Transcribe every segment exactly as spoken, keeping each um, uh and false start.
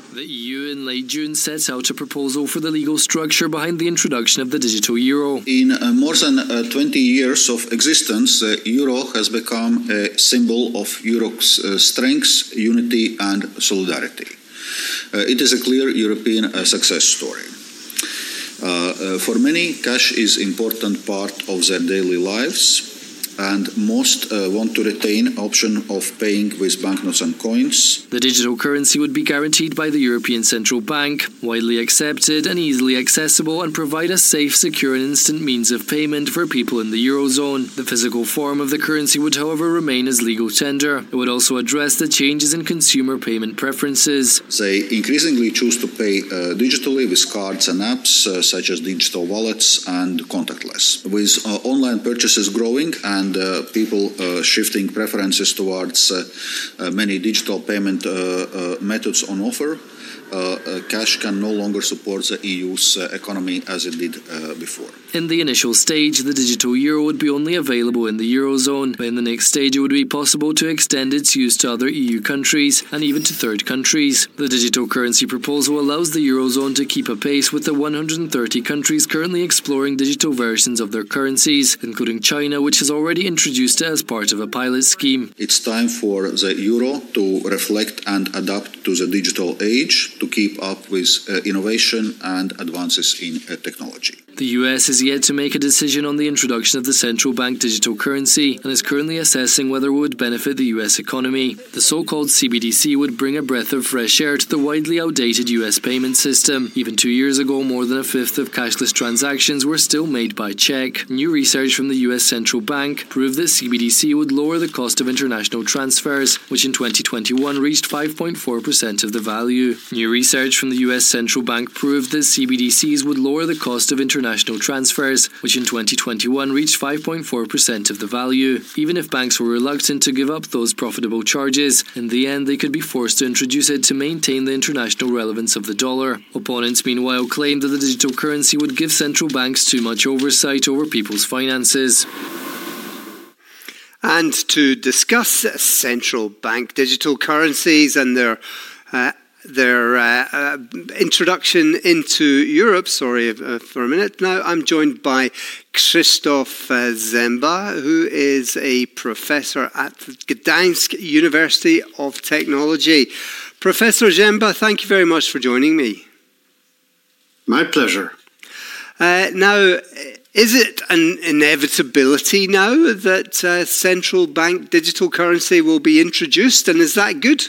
The E U in late June set out a proposal for the legal structure behind the introduction of the digital euro. In uh, more than uh, twenty years of existence, the euro has become a symbol of Europe's uh, strength, unity and solidarity. Uh, it is a clear European uh, success story. Uh, uh, for many, cash is an important part of their daily lives, and most uh, want to retain option of paying with banknotes and coins. The digital currency would be guaranteed by the European Central Bank, widely accepted and easily accessible, and provide a safe, secure and instant means of payment for people in the Eurozone. The physical form of the currency would, however, remain as legal tender. It would also address the changes in consumer payment preferences. They increasingly choose to pay uh, digitally with cards and apps uh, such as digital wallets and contactless. With uh, online purchases growing and uh, people uh, shifting preferences towards uh, uh, many digital payment uh, uh, methods on offer, Uh, uh, cash can no longer support the E U's uh, economy as it did uh, before. In the initial stage, the digital euro would be only available in the Eurozone, but in the next stage it would be possible to extend its use to other E U countries and even to third countries. The digital currency proposal allows the Eurozone to keep a pace with the one hundred thirty countries currently exploring digital versions of their currencies, including China, which has already introduced it as part of a pilot scheme. It's time for the euro to reflect and adapt to the digital age, to keep up with uh, innovation and advances in uh, technology. The U S is yet to make a decision on the introduction of the central bank digital currency and is currently assessing whether it would benefit the U S economy. The so-called C B D C would bring a breath of fresh air to the widely outdated U S payment system. Even two years ago, more than a fifth of cashless transactions were still made by check. New research from the U S Central Bank proved that C B D C would lower the cost of international transfers, which in twenty twenty-one reached five point four percent of the value. New research from the U S Central Bank proved that C B D Cs would lower the cost of international transfers, which in twenty twenty-one reached five point four percent of the value. Even if banks were reluctant to give up those profitable charges, in the end they could be forced to introduce it to maintain the international relevance of the dollar. Opponents meanwhile claimed that the digital currency would give central banks too much oversight over people's finances. And to discuss central bank digital currencies and their uh, their uh, uh, introduction into Europe, sorry uh, for a minute now, I'm joined by Krzysztof uh, Zemba, who is a professor at Gdańsk University of Technology. Professor Zemba, thank you very much for joining me. My pleasure. Uh, now, is it an inevitability now that uh, central bank digital currency will be introduced, and is that good?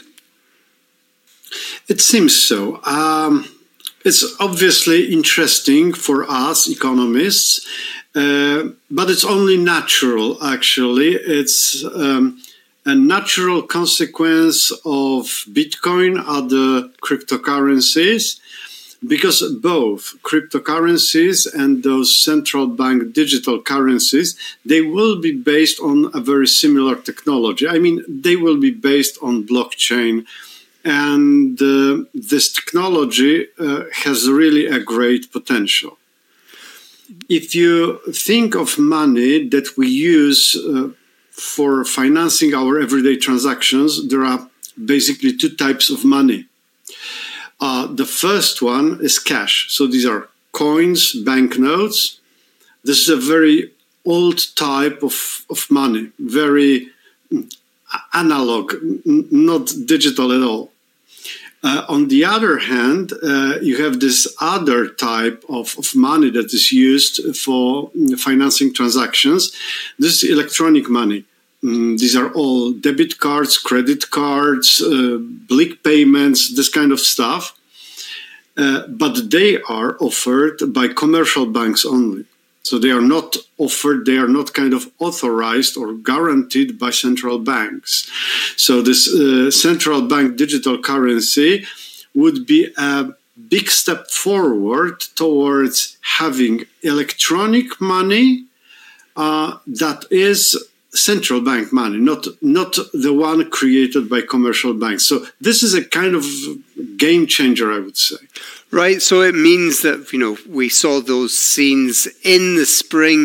It seems so. Um, it's obviously interesting for us economists, uh, but it's only natural, actually. It's um, a natural consequence of Bitcoin, other cryptocurrencies, because both cryptocurrencies and those central bank digital currencies, they will be based on a very similar technology. I mean, they will be based on blockchain. And uh, this technology uh, has really a great potential. If you think of money that we use uh, for financing our everyday transactions, there are basically two types of money. Uh, the first one is cash. So these are coins, banknotes. This is a very old type of, of money, very analog, n- not digital at all. Uh, on the other hand, uh, you have this other type of, of money that is used for financing transactions. This is electronic money. Mm, these are all debit cards, credit cards, uh, blick payments, this kind of stuff. Uh, but they are offered by commercial banks only. So they are not offered, they are not kind of authorized or guaranteed by central banks. So this uh, central bank digital currency would be a big step forward towards having electronic money uh, that is central bank money, not, not the one created by commercial banks. So this is a kind of game changer, I would say. Right, so it means that, you know, we saw those scenes in the spring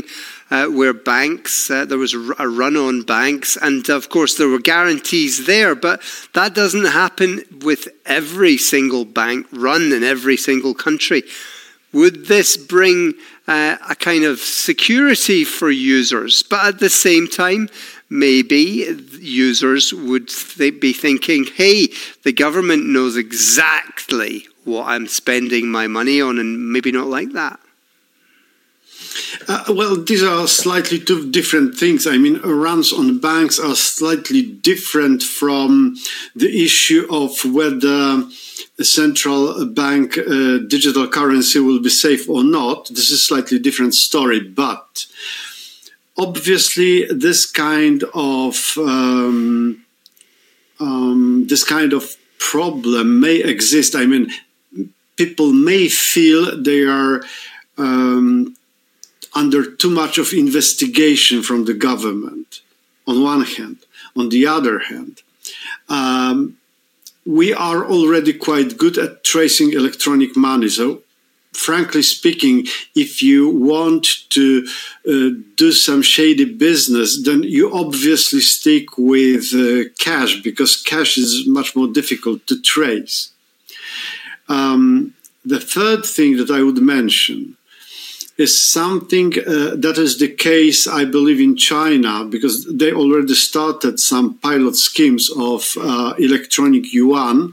uh, where banks, uh, there was a run on banks, and of course there were guarantees there, but that doesn't happen with every single bank run in every single country. Would this bring uh, a kind of security for users? But at the same time, maybe users would th- be thinking, hey, the government knows exactly what I'm spending my money on, and maybe not like that. Uh, well, these are slightly two different things. I mean, runs on banks are slightly different from the issue of whether a central bank uh, digital currency will be safe or not. This is a slightly different story, but obviously this kind of um, um, this kind of problem may exist. I mean, people may feel they are um, under too much of investigation from the government, on one hand. On the other hand, um, we are already quite good at tracing electronic money. So, frankly speaking, if you want to uh, do some shady business, then you obviously stick with uh, cash, because cash is much more difficult to trace. Um, the third thing that I would mention is something uh, that is the case, I believe, in China, because they already started some pilot schemes of uh, electronic yuan.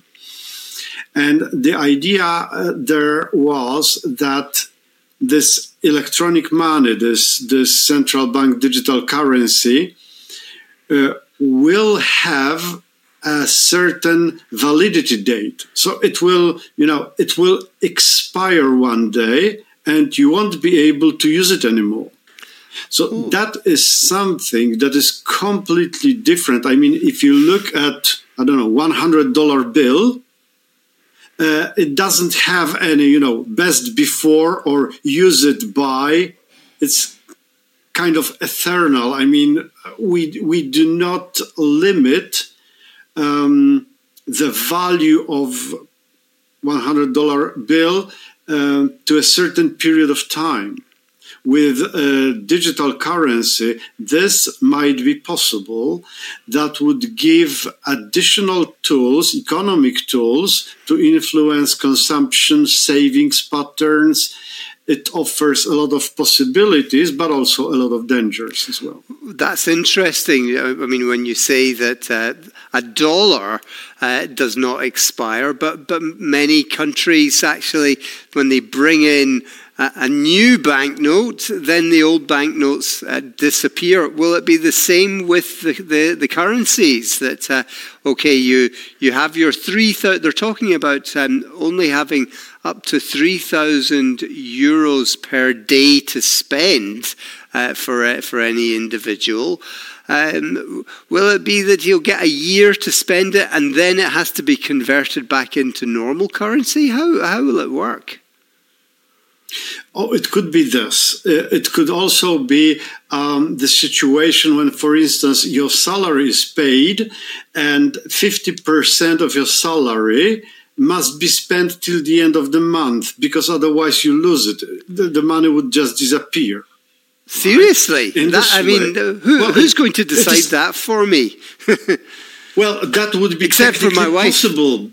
And the idea uh, there was that this electronic money, this, this central bank digital currency, uh, will have a certain validity date. So it will, you know, it will expire one day, and you won't be able to use it anymore. So Ooh. That is something that is completely different. I mean, if you look at, I don't know, one hundred dollar bill, uh, it doesn't have any, you know, best before or use it by. It's kind of eternal. I mean, we we do not limit um, the value of one hundred dollar bill Uh, to a certain period of time. With uh, digital currency, this might be possible. That would give additional tools, economic tools, to influence consumption, savings patterns. It offers a lot of possibilities, but also a lot of dangers as well. That's interesting. I mean, when you say that uh, a dollar uh, does not expire, but, but many countries actually, when they bring in a, a new banknote, then the old banknotes uh, disappear. Will it be the same with the, the, the currencies? That, uh, okay, you, you have your three thousand, they're talking about um, only having up to three thousand euros per day to spend uh, for uh, for any individual. Um, will it be that you'll get a year to spend it and then it has to be converted back into normal currency? How how will it work? Oh, it could be this. It could also be um, the situation when, for instance, your salary is paid and fifty percent of your salary must be spent till the end of the month, because otherwise you lose it. The, the money would just disappear. Seriously? Right? That, I mean, who, well, who's going to decide is, that for me? Well, that would be except for my wife. Possible.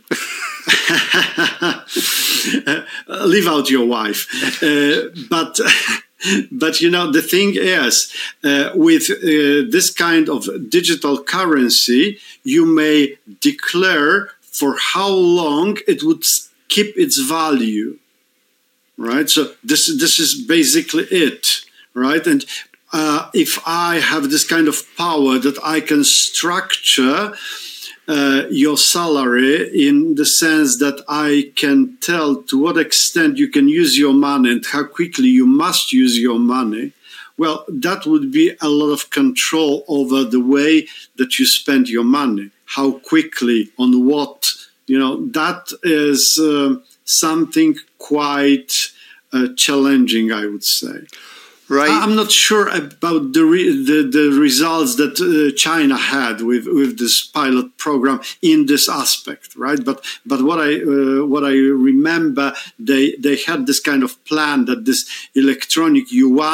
uh, leave out your wife. Uh, but, but, you know, the thing is, uh, with uh, this kind of digital currency, you may declare for how long it would keep its value, right? So this this is basically it, right? And uh, if I have this kind of power that I can structure uh, your salary in the sense that I can tell to what extent you can use your money and how quickly you must use your money, well, that would be a lot of control over the way that you spend your money. How quickly, on what, you know, that is uh, something quite uh, challenging, I would say. Right. I'm not sure about the re the, the results that uh, China had with, with this pilot program in this aspect, right? But but what I uh, what I remember, they they had this kind of plan that this electronic yuan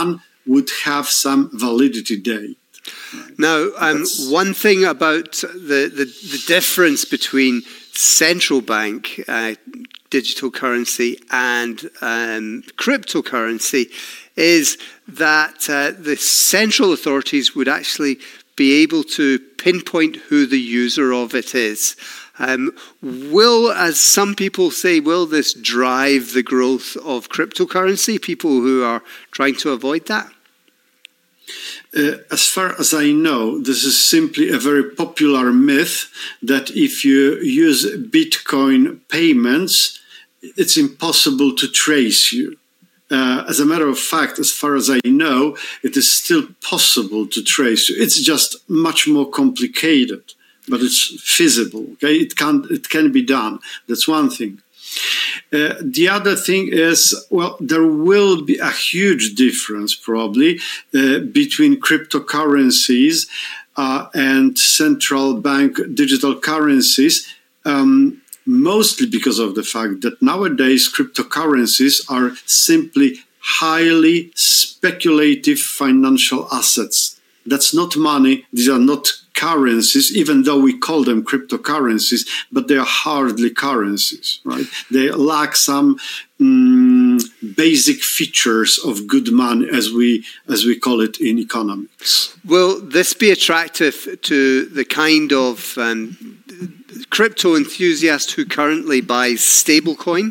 would have some validity date. Right? Now, um, one thing about the, the, the difference between central bank uh, digital currency and um, cryptocurrency is that uh, the central authorities would actually be able to pinpoint who the user of it is. Um, will, as some people say, will this drive the growth of cryptocurrency? People who are trying to avoid that? Uh, as far as I know, this is simply a very popular myth that if you use Bitcoin payments, it's impossible to trace you. Uh, as a matter of fact, as far as I know, it is still possible to trace you. It's just much more complicated, but it's feasible. Okay, it can it can be done. That's one thing. Uh, the other thing is, well, there will be a huge difference probably uh, between cryptocurrencies uh, and central bank digital currencies, um, mostly because of the fact that nowadays cryptocurrencies are simply highly speculative financial assets. That's not money. These are not currencies, even though we call them cryptocurrencies, but they are hardly currencies, right? They lack some um, basic features of good money, as we as we call it in economics. Will this be attractive to the kind of um, crypto enthusiast who currently buys stablecoin?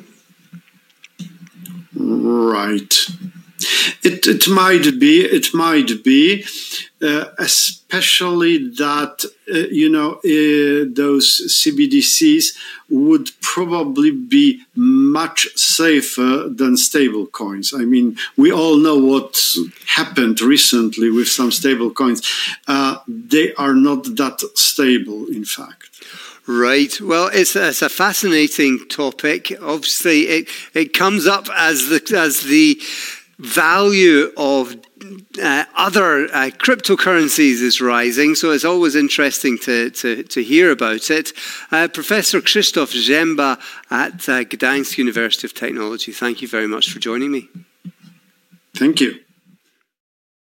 Right. It it might be. It might be. Uh, especially that, uh, you know, uh, those C B D Cs would probably be much safer than stable coins. I mean, we all know what happened recently with some stable coins. Uh, they are not that stable, in fact. Right. Well, it's, it's a fascinating topic. Obviously, it, it comes up as the as the value of uh, other uh, cryptocurrencies is rising, so it's always interesting to, to, to hear about it. Uh, Professor Krzysztof Ziemba at uh, Gdańsk University of Technology, thank you very much for joining me. Thank you.